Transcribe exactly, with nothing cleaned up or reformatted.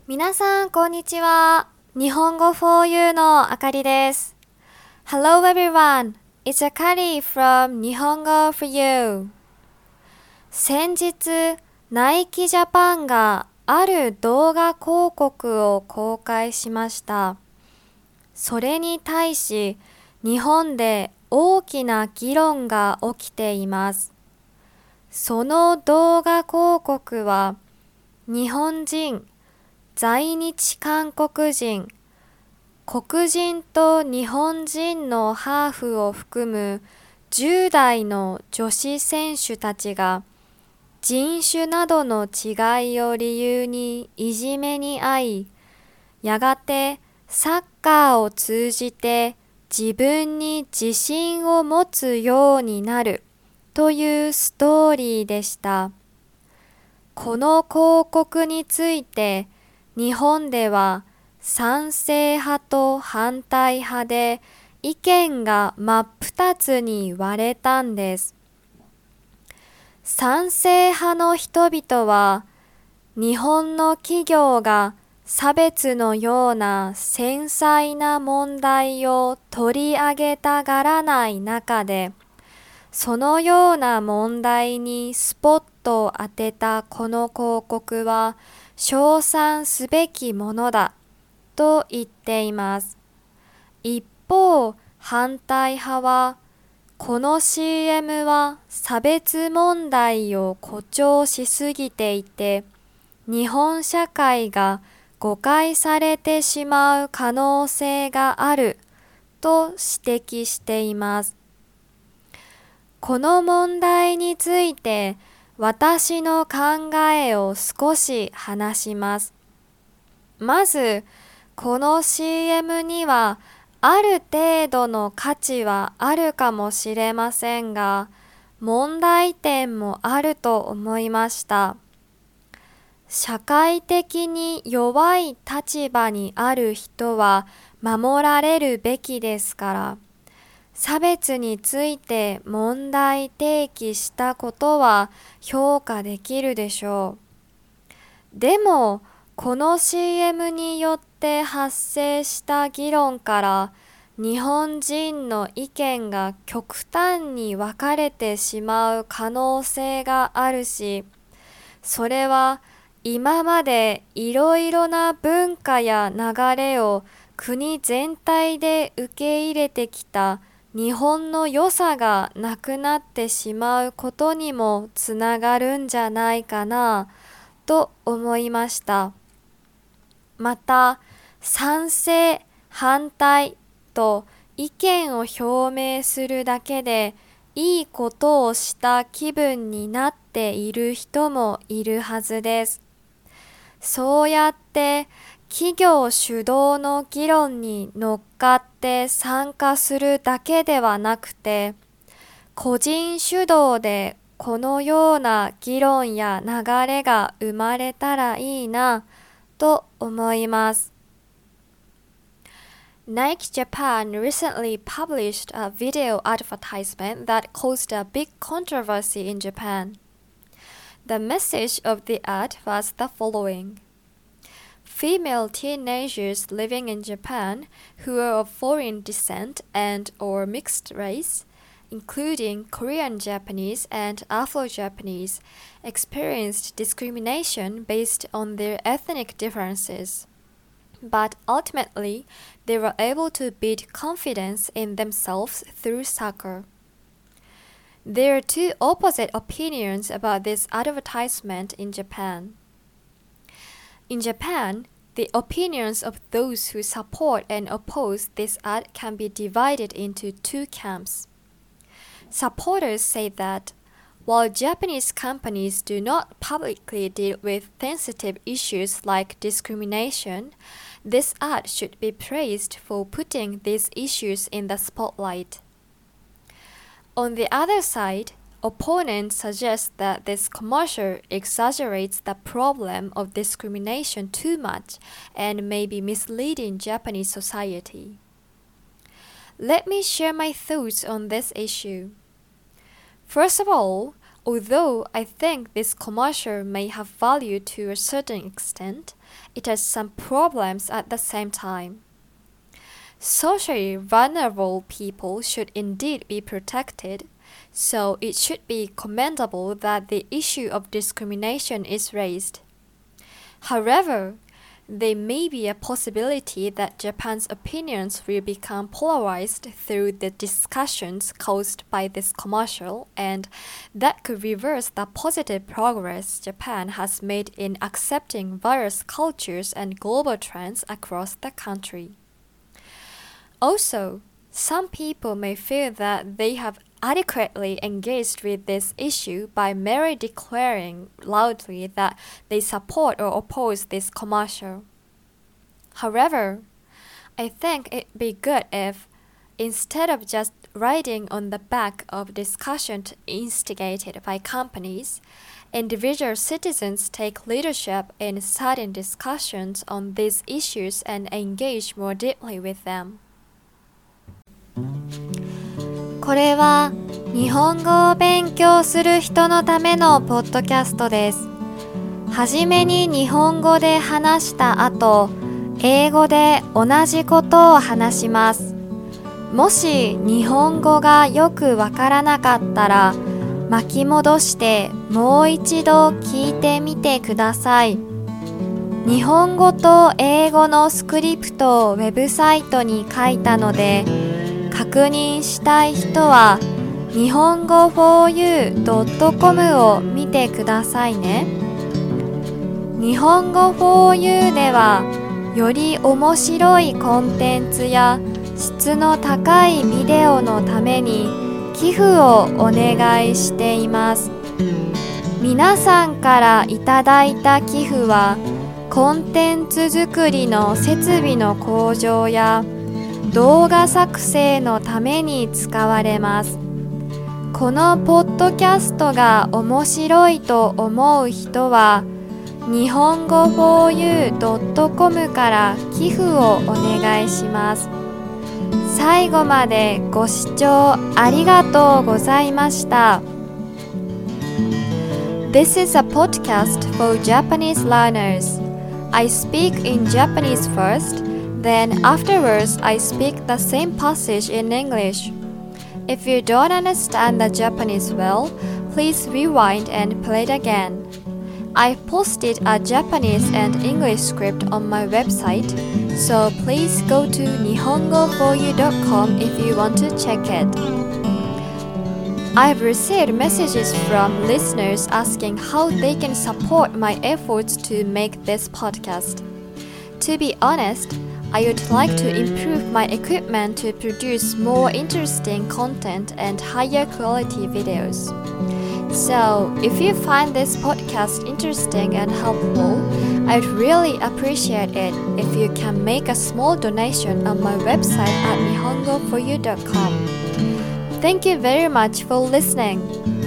皆さん、こんにちは。日本語 フォーユー のあかりです。Hello everyone, it's Akari from 日本語 フォーユー。先日、ナイキジャパンがある動画広告を公開しました。それに対し、日本で大きな議論が起きています。その動画広告は、日本人、在日韓国人、黒人と日本人のハーフを含むじゅう代の女子選手たちが人種などの違いを理由にいじめに遭い、やがてサッカーを通じて自分に自信を持つようになるというストーリーでした。この広告について日本では賛成派と反対派で意見が真っ二つに割れたんです。賛成派の人々は日本の企業が差別のような繊細な問題を取り上げたがらない中で、そのような問題にスポットを当てたこの広告は称賛すべきものだと言っています。一方、反対派はこの シーエム は差別問題を誇張しすぎていて、日本社会が誤解されてしまう可能性があると指摘しています。この問題について私の考えを少し話します。まず、この シーエム にはある程度の価値はあるかもしれませんが、問題点もあると思いました。社会的に弱い立場にある人は守られるべきですから、差別について問題提起したことは評価できるでしょう。でも、この シーエム によって発生した議論から日本人の意見が極端に分かれてしまう可能性があるし、それは今までいろいろな文化や流れを国全体で受け入れてきた日本の良さがなくなってしまうことにもつながるんじゃないかなと思いました。また、賛成、反対と意見を表明するだけでいいことをした気分になっている人もいるはずです。そうやって企業主導の議論に乗っかって参加するだけではなくて、個人主導でこのような議論や流れが生まれたらいいなと思います。Nike Japan recently published a video advertisement that caused a big controversy in Japan. The message of the ad was the following. Female teenagers living in Japan who are of foreign descent and or mixed race, including Korean Japanese and Afro-Japanese, experienced discrimination based on their ethnic differences. But ultimately, they were able to build confidence in themselves through soccer. There are two opposite opinions about this advertisement in Japan. In Japan, the opinions of those who support and oppose this ad can be divided into two camps. Supporters say that while Japanese companies do not publicly deal with sensitive issues like discrimination, this ad should be praised for putting these issues in the spotlight. On the other side, opponents suggest that this commercial exaggerates the problem of discrimination too much and may be misleading Japanese society. Let me share my thoughts on this issue. First of all, although I think this commercial may have value to a certain extent, it has some problems at the same time. Socially vulnerable people should indeed be protected, so it should be commendable that the issue of discrimination is raised. However, there may be a possibility that Japan's opinions will become polarized through the discussions caused by this commercial, and that could reverse the positive progress Japan has made in accepting various cultures and global trends across the country. Also, some people may feel that they have adequately engaged with this issue by merely declaring loudly that they support or oppose this commercial. However, I think it'd be good if, instead of just writing on the back of discussions instigated by companies, individual citizens take leadership in certain discussions on these issues and engage more deeply with them. これは日本語を勉強する人のためのポッドキャストです。はじめに日本語で話した後、英語で同じことを話します。もし日本語がよくわからなかったら、巻き戻してもう一度聞いてみてください。日本語と英語のスクリプトをウェブサイトに書いたので、確認したい人は日本語 フォーユードットコム を見てくださいね。日本語 フォーユー ではより面白いコンテンツや質の高いビデオのために寄付をお願いしています。皆さんからいただいた寄付はコンテンツ作りの設備の向上や動画作成のために使われます。このポッドキャストが面白いと思う人は日本語 フォーユードットコム から寄付をお願いします。最後までご視聴ありがとうございました。 This is a podcast for Japanese learners. I speak in Japanese first.Then afterwards, I speak the same passage in English. If you don't understand the Japanese well, please rewind and play it again. I've posted a Japanese and English script on my website, so please go to nihongo for you dot com if you want to check it. I've received messages from listeners asking how they can support my efforts to make this podcast. To be honest,I would like to improve my equipment to produce more interesting content and higher quality videos. So, if you find this podcast interesting and helpful, I'd really appreciate it if you can make a small donation on my website at nihongo for you dot com. Thank you very much for listening.